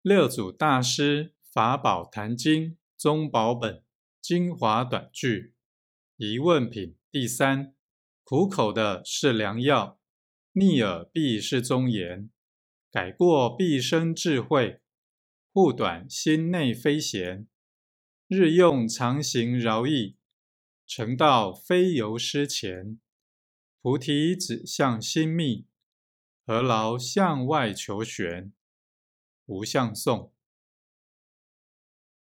六祖大师法宝坛经宗宝本精华短句疑问品第三：苦口的是良药，逆耳必是忠言。改过必生智慧，护短心内非闲。日用常行饶益，成道非由师前。菩提指向心密，何劳向外求玄？无相颂。